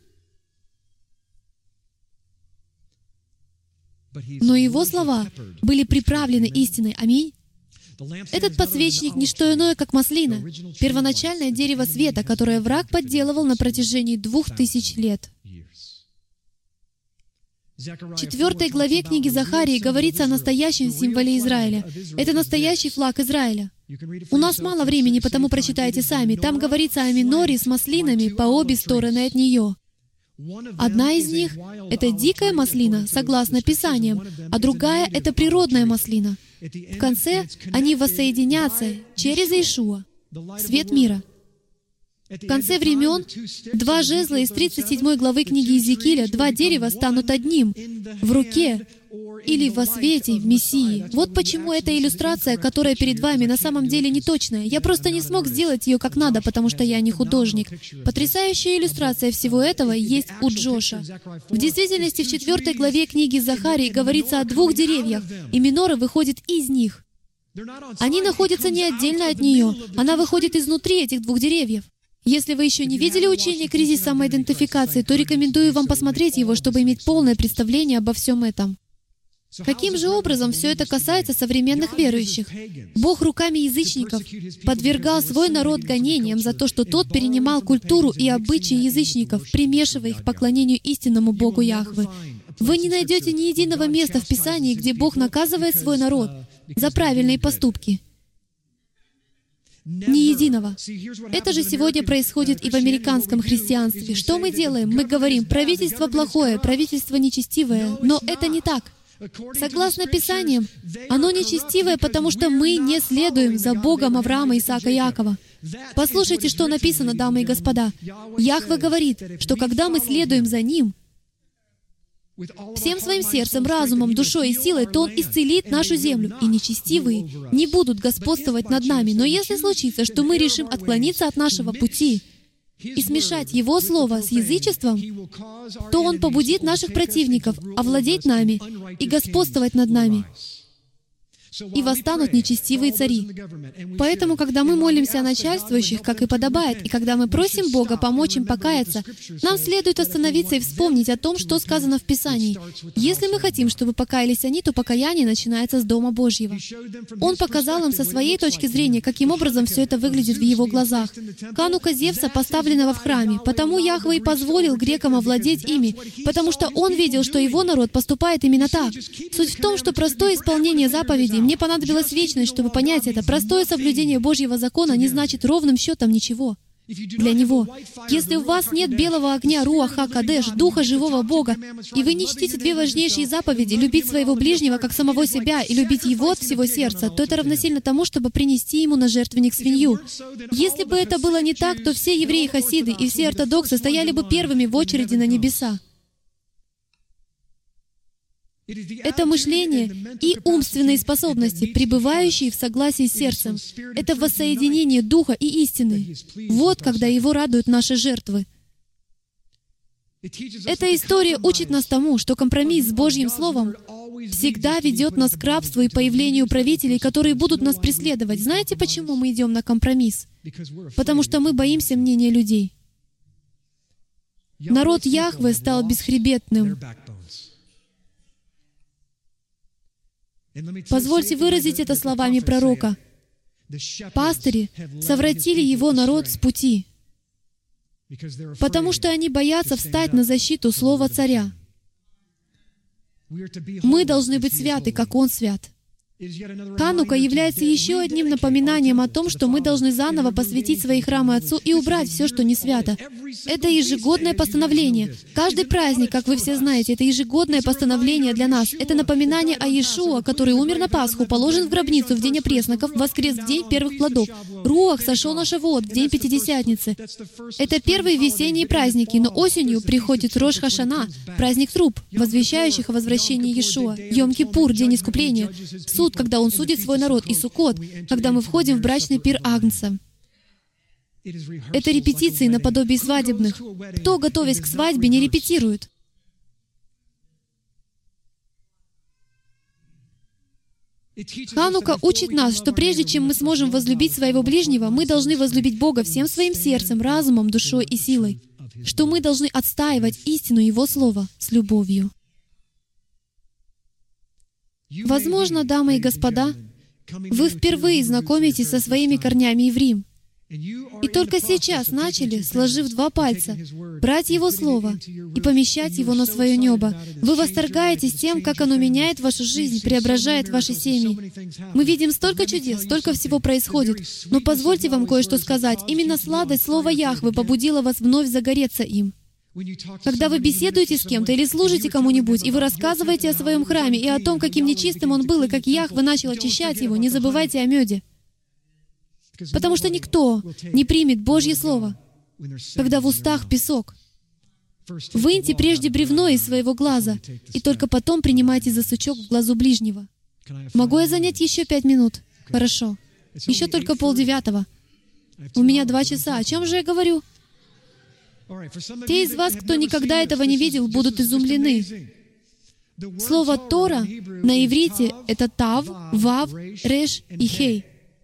Но его слова были приправлены истиной. Аминь. Этот подсвечник — не что иное, как маслина, первоначальное дерево света, которое враг подделывал на протяжении 2000 лет. В 4 главе книги Захарии говорится о настоящем символе Израиля. Это настоящий флаг Израиля. У нас мало времени, потому прочитайте сами. Там говорится о миноре с маслинами по обе стороны от нее. Одна из них — это дикая маслина, согласно Писаниям, а другая — это природная маслина. В конце они воссоединятся через Иешуа, свет мира. В конце времен 2 жезла из 37 главы книги Иезекииля, 2 дерева станут одним в руке или во свете в Мессии. Вот почему эта иллюстрация, которая перед вами, на самом деле не точная. Я просто не смог сделать ее как надо, потому что я не художник. Потрясающая иллюстрация всего этого есть у Джоша. В действительности, в 4 главе книги Захарии говорится о 2 деревьях, и минора выходит из них. Они находятся не отдельно от нее, она выходит изнутри этих 2 деревьев. Если вы еще не видели учение «Кризис самоидентификации», то рекомендую вам посмотреть его, чтобы иметь полное представление обо всем этом. Каким же образом все это касается современных верующих? Бог руками язычников подвергал свой народ гонениям за то, что тот перенимал культуру и обычаи язычников, примешивая их к поклонению истинному Богу Яхве. Вы не найдете ни единого места в Писании, где Бог наказывает свой народ за правильные поступки. Ни единого. Это же сегодня происходит и в американском христианстве. Что мы делаем? Мы говорим, правительство плохое, правительство нечестивое. Но это не так. Согласно Писаниям, оно нечестивое, потому что мы не следуем за Богом Авраама, Исаака и Иакова. Послушайте, что написано, дамы и господа. Яхве говорит, что когда мы следуем за Ним, всем своим сердцем, разумом, душой и силой, то Он исцелит нашу землю, и нечестивые не будут господствовать над нами. Но если случится, что мы решим отклониться от нашего пути и смешать Его Слово с язычеством, то Он побудит наших противников овладеть нами и господствовать над нами. И восстанут нечестивые цари. Поэтому, когда мы молимся о начальствующих, как и подобает, и когда мы просим Бога помочь им покаяться, нам следует остановиться и вспомнить о том, что сказано в Писании. Если мы хотим, чтобы покаялись они, то покаяние начинается с Дома Божьего. Он показал им со своей точки зрения, каким образом все это выглядит в его глазах. Ханука Зевса, поставленного в храме. Потому Яхве и позволил грекам овладеть ими, потому что он видел, что его народ поступает именно так. Суть в том, что простое исполнение заповедей. Мне понадобилась вечность, чтобы понять это. Простое соблюдение Божьего закона не значит ровным счетом ничего для Него. Если у вас нет белого огня Руах ха-Кадеш, Духа живого Бога, и вы не чтите 2 важнейшие заповеди — любить своего ближнего как самого себя и любить Его от всего сердца, то это равносильно тому, чтобы принести Ему на жертвенник свинью. Если бы это было не так, то все евреи-хасиды и все ортодоксы стояли бы первыми в очереди на небеса. Это мышление и умственные способности, пребывающие в согласии с сердцем. Это воссоединение Духа и истины. Вот когда Его радуют наши жертвы. Эта история учит нас тому, что компромисс с Божьим Словом всегда ведет нас к рабству и появлению правителей, которые будут нас преследовать. Знаете, почему мы идем на компромисс? Потому что мы боимся мнения людей. Народ Яхве стал бесхребетным. Позвольте выразить это словами пророка. Пастыри совратили его народ с пути, потому что они боятся встать на защиту слова царя. Мы должны быть святы, как Он свят. Ханука является еще одним напоминанием о том, что мы должны заново посвятить свои храмы Отцу и убрать все, что не свято. Это ежегодное постановление. Каждый праздник, как вы все знаете, это ежегодное постановление для нас. Это напоминание о Иешуа, который умер на Пасху, положен в гробницу в день опресноков, воскрес в день первых плодов. Руах сошел на Шавуот в день Пятидесятницы. Это первые весенние праздники, но осенью приходит Рош Хашана, праздник труб, возвещающих о возвращении Иешуа, Йом-Кипур, день искупления, суд, когда Он судит свой народ, и Суккот, когда мы входим в брачный пир Агнца. Это репетиции наподобие свадебных. Кто, готовясь к свадьбе, не репетирует? Ханука учит нас, что прежде чем мы сможем возлюбить своего ближнего, мы должны возлюбить Бога всем своим сердцем, разумом, душой и силой, что мы должны отстаивать истину Его Слова с любовью. Возможно, дамы и господа, вы впервые знакомитесь со своими корнями в Рим, и только сейчас начали, сложив два пальца, брать Его Слово и помещать его на свое небо. Вы восторгаетесь тем, как оно меняет вашу жизнь, преображает ваши семьи. Мы видим столько чудес, столько всего происходит. Но позвольте вам кое-что сказать. Именно сладость Слова Яхве побудила вас вновь загореться им. Когда вы беседуете с кем-то или служите кому-нибудь, и вы рассказываете о своем храме и о том, каким нечистым он был, и как Яхве начал очищать его, не забывайте о меде. Потому что никто не примет Божье Слово, когда в устах песок. Выньте прежде бревно из своего глаза, и только потом принимайте за сучок в глазу ближнего. Могу я занять еще 5 минут? Хорошо. Еще только 8:30. У меня 2 часа. О чем же я говорю? Те из вас, кто никогда этого не видел, будут изумлены. Слово «Тора» на иврите — это «тав», «вав», «реш» и «хей».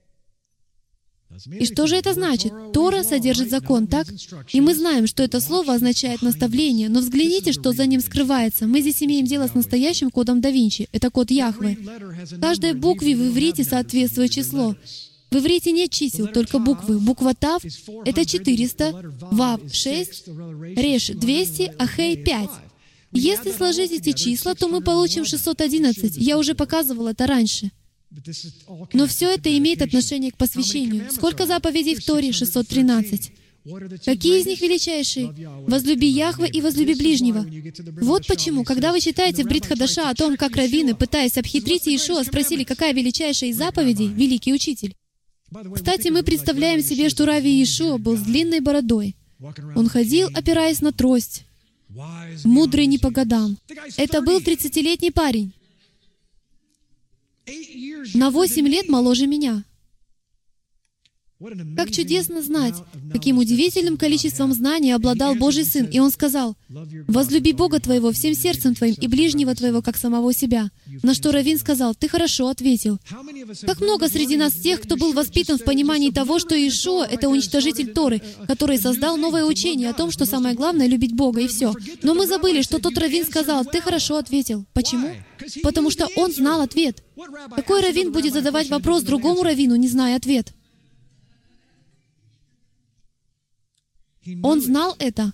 И что же это значит? Тора содержит закон, так? И мы знаем, что это слово означает наставление, но взгляните, что за ним скрывается. Мы здесь имеем дело с настоящим кодом да Винчи. Это код Яхве. Каждой букве в иврите соответствует число. В иврите нет чисел, только буквы. Буква Тав — это 400, Вав — 6, Реш — 200, а Хей — 5. Если сложить эти числа, то мы получим 611. Я уже показывал это раньше. Но все это имеет отношение к посвящению. Сколько заповедей в Торе? 613. Какие из них величайшие? «Возлюби Яхве и возлюби ближнего». Вот почему, когда вы читаете в Брит Хадаша о том, как раввины, пытаясь обхитрить Иешуа, спросили, какая величайшая из заповедей, великий учитель. Кстати, мы представляем себе, что Рави Иешуа был с длинной бородой. Он ходил, опираясь на трость, мудрый не по годам. Это был 30-летний парень, на 8 лет моложе меня. Как чудесно знать, каким удивительным количеством знаний обладал Божий Сын. И Он сказал: «Возлюби Бога твоего всем сердцем твоим и ближнего твоего, как самого себя». На что раввин сказал: «Ты хорошо ответил». Как много среди нас тех, кто был воспитан в понимании того, что Иешуа — это уничтожитель Торы, который создал новое учение о том, что самое главное — любить Бога, и все. Но мы забыли, что тот раввин сказал: «Ты хорошо ответил». Почему? Потому что он знал ответ. Какой раввин будет задавать вопрос другому раввину, не зная ответ? Он знал это,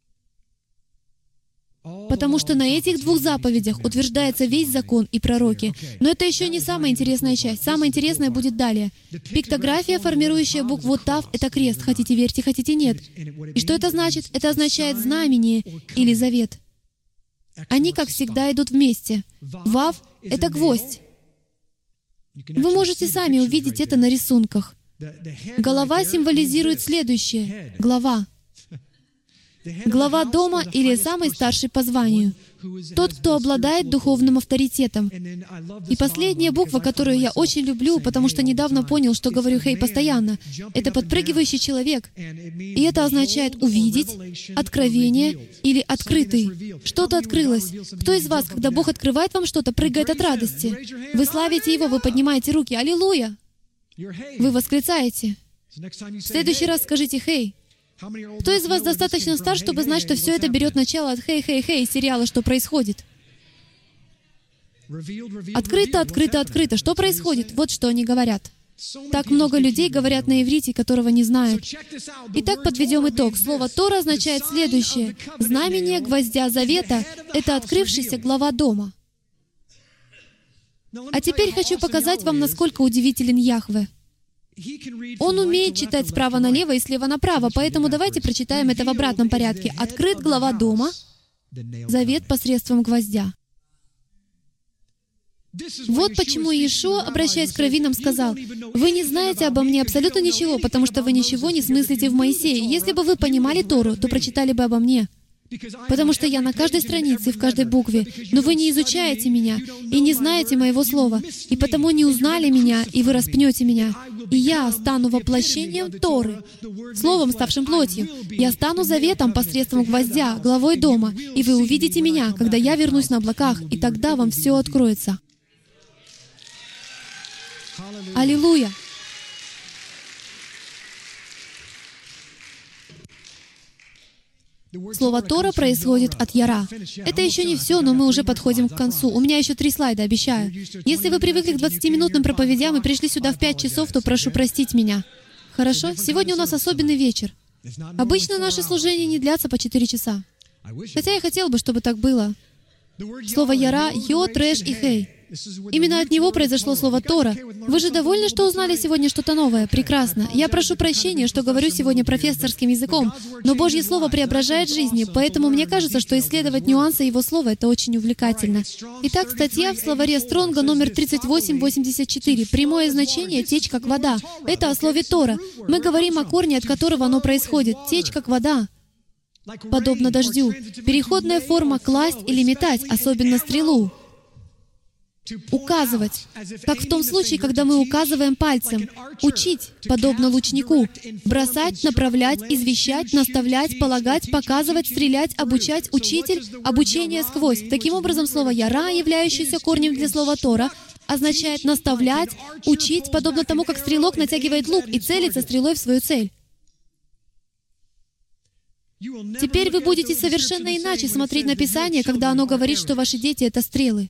потому что на этих 2 заповедях утверждается весь закон и пророки. Но это еще не самая интересная часть. Самое интересное будет далее. Пиктография, формирующая букву «Тав», — это крест. Хотите верьте, хотите нет. И что это значит? Это означает знамение или завет. Они, как всегда, идут вместе. Вав — это гвоздь. Вы можете сами увидеть это на рисунках. Голова символизирует следующее — глава. Глава дома или самый старший по званию. Тот, кто обладает духовным авторитетом. И последняя буква, которую я очень люблю, потому что недавно понял, что говорю «хей» постоянно, это подпрыгивающий человек. И это означает «увидеть», «откровение» или «открытый». Что-то открылось. Кто из вас, когда Бог открывает вам что-то, прыгает от радости? Вы славите Его, вы поднимаете руки. Аллилуйя! Вы восклицаете. В следующий раз скажите «хей». Кто из вас достаточно стар, чтобы знать, что все это берет начало от «хей-хей-хей» сериала «Что происходит»? Открыто, открыто, открыто. Что происходит? Вот что они говорят. Так много людей говорят на иврите, которого не знают. Итак, подведем итог. Слово «Тора» означает следующее. Знамение гвоздя завета — это открывшаяся глава дома. А теперь хочу показать вам, насколько удивителен Яхве. Он умеет читать справа налево и слева направо, поэтому давайте прочитаем это в обратном порядке. Открыт глава дома, завет посредством гвоздя. Вот почему Иешуа, обращаясь к раввинам, сказал: «Вы не знаете обо мне абсолютно ничего, потому что вы ничего не смыслите в Моисее. Если бы вы понимали Тору, то прочитали бы обо мне. Потому что я на каждой странице и в каждой букве. Но вы не изучаете меня и не знаете моего слова, и потому не узнали меня, и вы распнете меня. И я стану воплощением Торы, словом, ставшим плотью. Я стану заветом посредством гвоздя, главой дома, и вы увидите меня, когда я вернусь на облаках, и тогда вам все откроется». Аллилуйя! Слово «Тора» происходит от «яра». Это еще не все, но мы уже подходим к концу. У меня еще 3 слайда, обещаю. Если вы привыкли к 20-минутным проповедям и пришли сюда в 5 часов, то прошу простить меня. Хорошо? Сегодня у нас особенный вечер. Обычно наши служения не длятся по 4 часа. Хотя я хотел бы, чтобы так было. Слово «яра» — «йод», «реш» и «хей». Именно от него произошло слово «Тора». Вы же довольны, что узнали сегодня что-то новое? Прекрасно. Я прошу прощения, что говорю сегодня профессорским языком, но Божье Слово преображает жизни, поэтому мне кажется, что исследовать нюансы Его Слова — это очень увлекательно. Итак, статья в словаре Стронга номер 3884. Прямое значение — течь как вода. Это о слове «Тора». Мы говорим о корне, от которого оно происходит. Течь как вода. Подобно дождю. Переходная форма «класть» или «метать», особенно стрелу. Указывать, как в том случае, когда мы указываем пальцем. Учить, подобно лучнику. Бросать, направлять, извещать, наставлять, полагать, показывать, стрелять, обучать, учитель, обучение сквозь. Таким образом, слово «яра», являющееся корнем для слова «Тора», означает наставлять, учить, подобно тому, как стрелок натягивает лук и целится стрелой в свою цель. Теперь вы будете совершенно иначе смотреть на Писание, когда оно говорит, что ваши дети — это стрелы.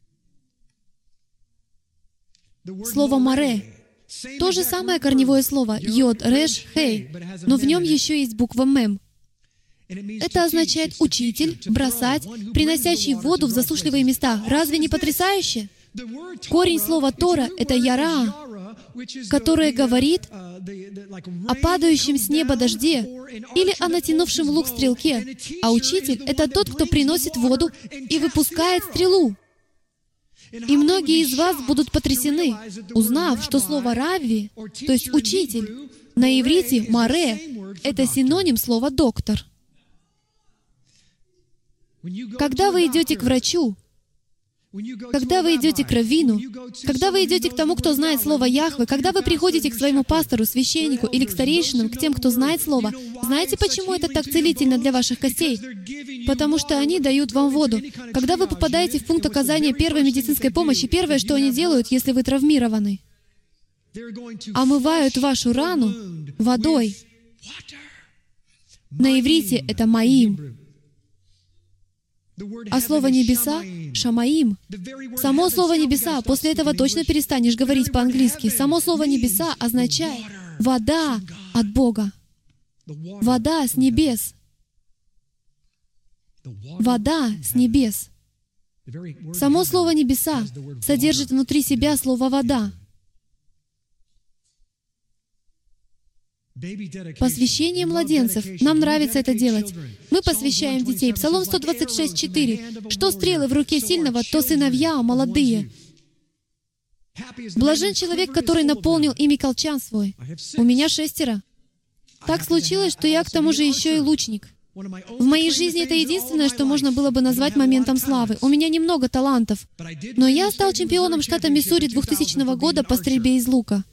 Слово «маре» — то же самое корневое слово «йод», «реш», «хей», но в нем еще есть буква «мем». Это означает «учитель», «бросать», «приносящий воду в засушливые места». Разве не потрясающе? Корень слова «Тора» — это «яра», которое говорит о падающем с неба дожде или о натянувшем лук стрелке, а учитель — это тот, кто приносит воду и выпускает стрелу. И многие из вас будут потрясены, узнав, что слово «равви», то есть «учитель», на иврите «маре» — это синоним слова «доктор». Когда вы идете к врачу, когда вы идете к раввину, когда вы идете к тому, кто знает слово Яхве, когда вы приходите к своему пастору, священнику или к старейшинам, к тем, кто знает слово, знаете, почему это так целительно для ваших костей? Потому что они дают вам воду. Когда вы попадаете в пункт оказания первой медицинской помощи, первое, что они делают, если вы травмированы, омывают вашу рану водой. На иврите это «маим». А слово «небеса» — «шамаим». Само слово «небеса», после этого точно перестанешь говорить по-английски. Само слово «небеса» означает «вода от Бога». Вода с небес. Вода с небес. Само слово «небеса» содержит внутри себя слово «вода». Посвящение младенцев. Нам нравится это делать. Мы посвящаем детей. Псалом 126:4. «Что стрелы в руке сильного, то сыновья молодые». Блажен человек, который наполнил ими колчан свой. У меня 6. Так случилось, что я к тому же еще и лучник. В моей жизни это единственное, что можно было бы назвать моментом славы. У меня немного талантов, но я стал чемпионом штата Миссури 2000 года по стрельбе из лука.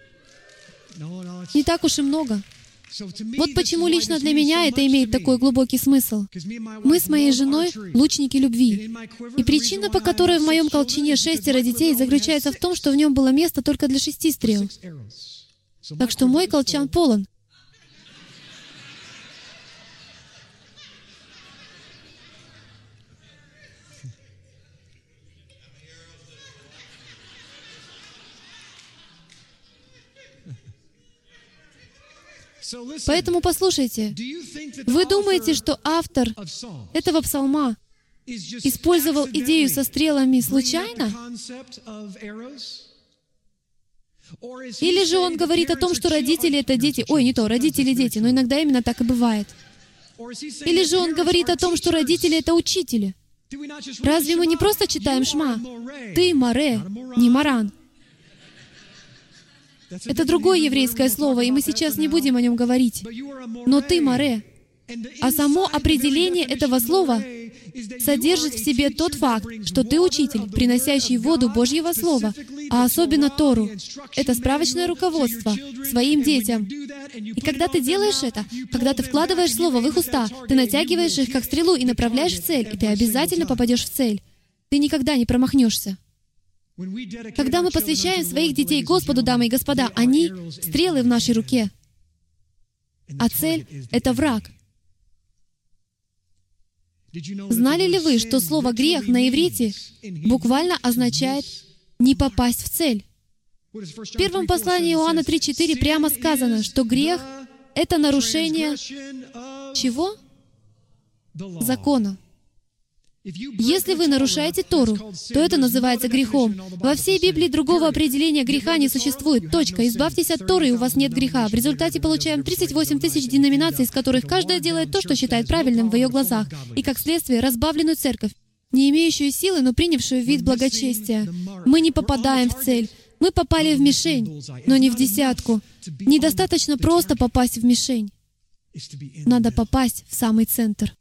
Не так уж и много. Вот почему лично для меня это имеет такой глубокий смысл. Мы с моей женой — лучники любви. И причина, по которой в моем колчане 6 детей, заключается в том, что в нем было место только для 6 стрел. Так что мой колчан полон. Поэтому послушайте, вы думаете, что автор этого псалма использовал идею со стрелами случайно? Или же он говорит о том, что родители — это дети? Ой, не то, родители — дети, но иногда именно так и бывает. Или же он говорит о том, что родители — это учители? Разве мы не просто читаем Шма? Ты Море, не Маран. Это другое еврейское слово, и мы сейчас не будем о нем говорить. Но ты Море. А само определение этого слова содержит в себе тот факт, что ты учитель, приносящий воду Божьего Слова, а особенно Тору. Это справочное руководство своим детям. И когда ты делаешь это, когда ты вкладываешь Слово в их уста, ты натягиваешь их как стрелу и направляешь в цель, и ты обязательно попадешь в цель. Ты никогда не промахнешься. Когда мы посвящаем своих детей Господу, дамы и господа, они — стрелы в нашей руке. А цель — это враг. Знали ли вы, что слово «грех» на иврите буквально означает «не попасть в цель»? В первом послании Иоанна 3:4 прямо сказано, что грех — это нарушение чего? Закона. Если вы нарушаете Тору, то это называется грехом. Во всей Библии другого определения греха не существует. Точка. Избавьтесь от Торы, и у вас нет греха. В результате получаем 38 тысяч деноминаций, из которых каждая делает то, что считает правильным в ее глазах, и, как следствие, разбавленную церковь, не имеющую силы, но принявшую вид благочестия. Мы не попадаем в цель. Мы попали в мишень, но не в десятку. Недостаточно просто попасть в мишень. Надо попасть в самый центр.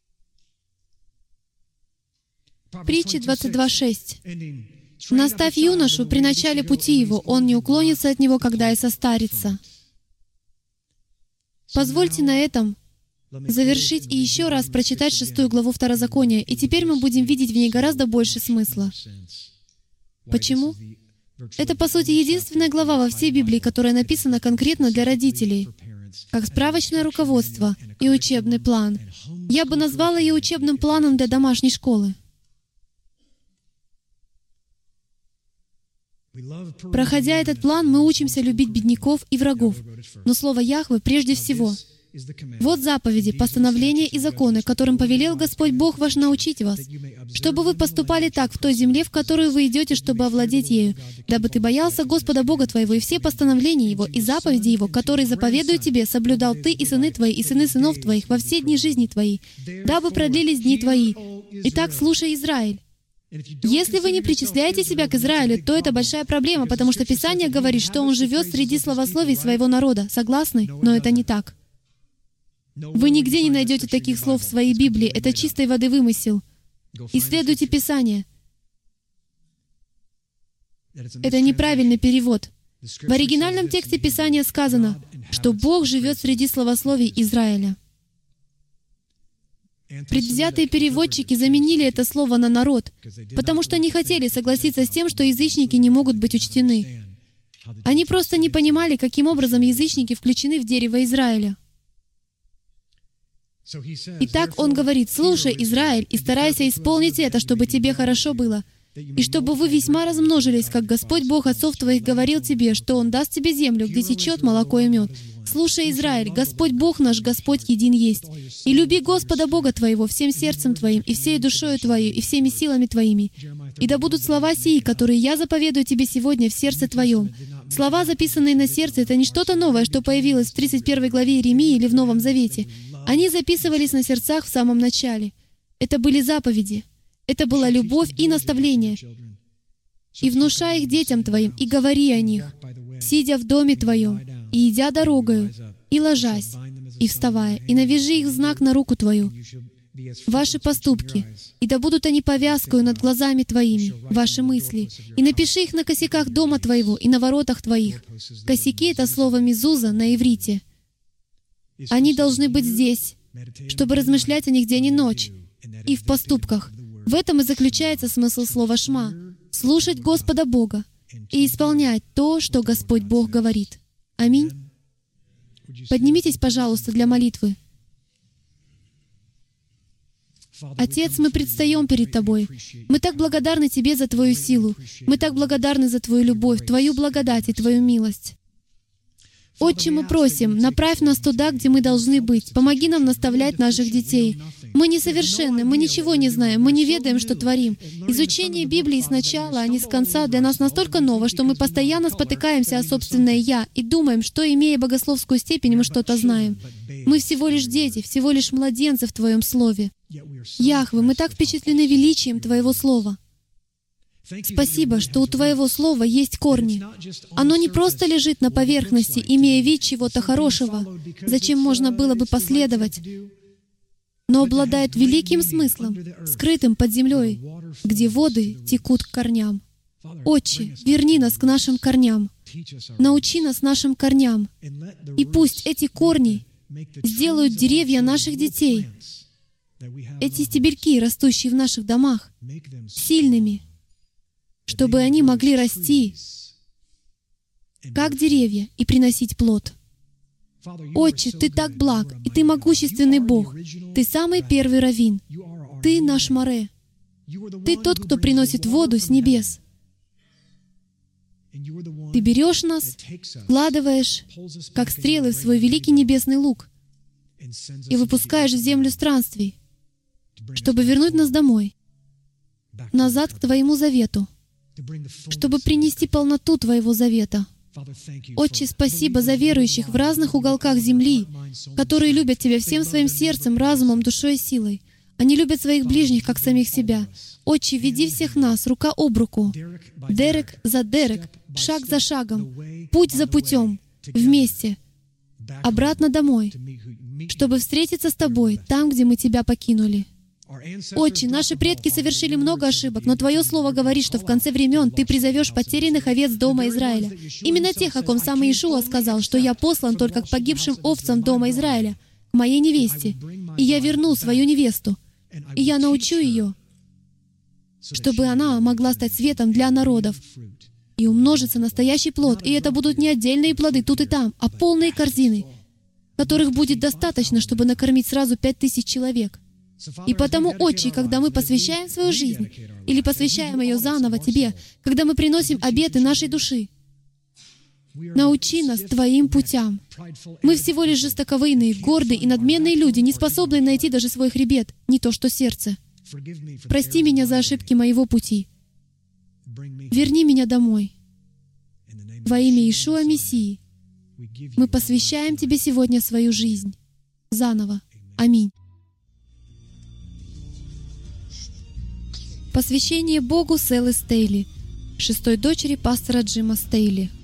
Притча 22:6. «Наставь юношу при начале пути его, он не уклонится от него, когда и состарится». Позвольте на этом завершить и еще раз прочитать 6 главу Второзакония, и теперь мы будем видеть в ней гораздо больше смысла. Почему? Это, по сути, единственная глава во всей Библии, которая написана конкретно для родителей, как справочное руководство и учебный план. Я бы назвала ее учебным планом для домашней школы. Проходя этот план, мы учимся любить бедняков и врагов. Но слово Яхве прежде всего. Вот заповеди, постановления и законы, которым повелел Господь Бог ваш научить вас, чтобы вы поступали так в той земле, в которую вы идете, чтобы овладеть ею, дабы ты боялся Господа Бога твоего и все постановления Его и заповеди Его, которые заповедую тебе, соблюдал ты и сыны твои, и сыны сынов твоих во все дни жизни твоей, дабы продлились дни твои. Итак, слушай, Израиль. Если вы не причисляете себя к Израилю, то это большая проблема, потому что Писание говорит, что он живет среди славословий своего народа. Согласны? Но это не так. Вы нигде не найдете таких слов в своей Библии. Это чистой воды вымысел. Исследуйте Писание. Это неправильный перевод. В оригинальном тексте Писания сказано, что Бог живет среди славословий Израиля. Предвзятые переводчики заменили это слово на «народ», потому что не хотели согласиться с тем, что язычники не могут быть учтены. Они просто не понимали, каким образом язычники включены в дерево Израиля. Итак, он говорит: «Слушай, Израиль, и старайся исполнить это, чтобы тебе хорошо было, и чтобы вы весьма размножились, как Господь Бог отцов твоих говорил тебе, что Он даст тебе землю, где течет молоко и мед. Слушай, Израиль, Господь Бог наш, Господь един есть. И люби Господа Бога твоего всем сердцем твоим, и всей душою твоей, и всеми силами твоими. И да будут слова сии, которые я заповедую тебе сегодня в сердце твоем». Слова, записанные на сердце, это не что-то новое, что появилось в 31 главе Иеремии или в Новом Завете. Они записывались на сердцах в самом начале. Это были заповеди. Это была любовь и наставление. «И внушай их детям твоим, и говори о них, сидя в доме твоем, и идя дорогою, и ложась, и вставая, и навяжи их знак на руку твою, ваши поступки, и да будут они повязкою над глазами твоими, ваши мысли, и напиши их на косяках дома твоего и на воротах твоих». Косяки — это слово «мезуза» на иврите. Они должны быть здесь, чтобы размышлять о них день и ночь, и в поступках. В этом и заключается смысл слова «шма» — слушать Господа Бога и исполнять то, что Господь Бог говорит. Аминь. Поднимитесь, пожалуйста, для молитвы. Отец, мы предстаем перед Тобой. Мы так благодарны Тебе за Твою силу. Мы так благодарны за Твою любовь, Твою благодать и Твою милость. Отче, мы просим, направь нас туда, где мы должны быть. Помоги нам наставлять наших детей. Мы несовершенны, мы ничего не знаем, мы не ведаем, что творим. Изучение Библии сначала, а не с конца, для нас настолько ново, что мы постоянно спотыкаемся о собственное «я» и думаем, что, имея богословскую степень, мы что-то знаем. Мы всего лишь дети, всего лишь младенцы в Твоем Слове. Яхве, мы так впечатлены величием Твоего Слова. Спасибо, что у Твоего Слова есть корни. Оно не просто лежит на поверхности, имея вид чего-то хорошего, зачем можно было бы последовать, но обладает великим смыслом, скрытым под землей, где воды текут к корням. Отче, верни нас к нашим корням. Научи нас нашим корням. И пусть эти корни сделают деревья наших детей, эти стебельки, растущие в наших домах, сильными, чтобы они могли расти, как деревья, и приносить плод. Отче, Ты так благ, и Ты могущественный Бог. Ты самый первый раввин. Ты наш море. Ты тот, кто приносит воду с небес. Ты берешь нас, вкладываешь, как стрелы, в свой великий небесный лук и выпускаешь в землю странствий, чтобы вернуть нас домой, назад к Твоему завету, чтобы принести полноту Твоего завета. Отче, спасибо за верующих в разных уголках земли, которые любят Тебя всем своим сердцем, разумом, душой и силой. Они любят своих ближних, как самих себя. Отче, веди всех нас рука об руку, Дерек за Дерек, шаг за шагом, путь за путем, вместе, обратно домой, чтобы встретиться с Тобой там, где мы Тебя покинули. Отче, наши предки совершили много ошибок, но Твое Слово говорит, что в конце времен Ты призовешь потерянных овец дома Израиля. Именно тех, о ком сам Иешуа сказал, что «Я послан только к погибшим овцам дома Израиля, к моей невесте, и я верну свою невесту, и я научу ее, чтобы она могла стать светом для народов и умножится настоящий плод, и это будут не отдельные плоды тут и там, а полные корзины, которых будет достаточно, чтобы накормить сразу 5000 человек». И потому, Отче, когда мы посвящаем свою жизнь, или посвящаем ее заново Тебе, когда мы приносим обеты нашей души, научи нас Твоим путям. Мы всего лишь жестоковыйные, гордые и надменные люди, не способные найти даже свой хребет, не то что сердце. Прости меня за ошибки моего пути. Верни меня домой. Во имя Иешуа Мессии мы посвящаем Тебе сегодня свою жизнь. Заново. Аминь. Посвящение Богу Селы Стейли, 6-й дочери пастора Джима Стейли.